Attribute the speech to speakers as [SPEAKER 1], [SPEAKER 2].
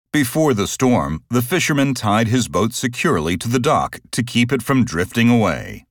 [SPEAKER 1] Before the storm, the fisherman tied his boat securely to the dock to keep it from drifting away.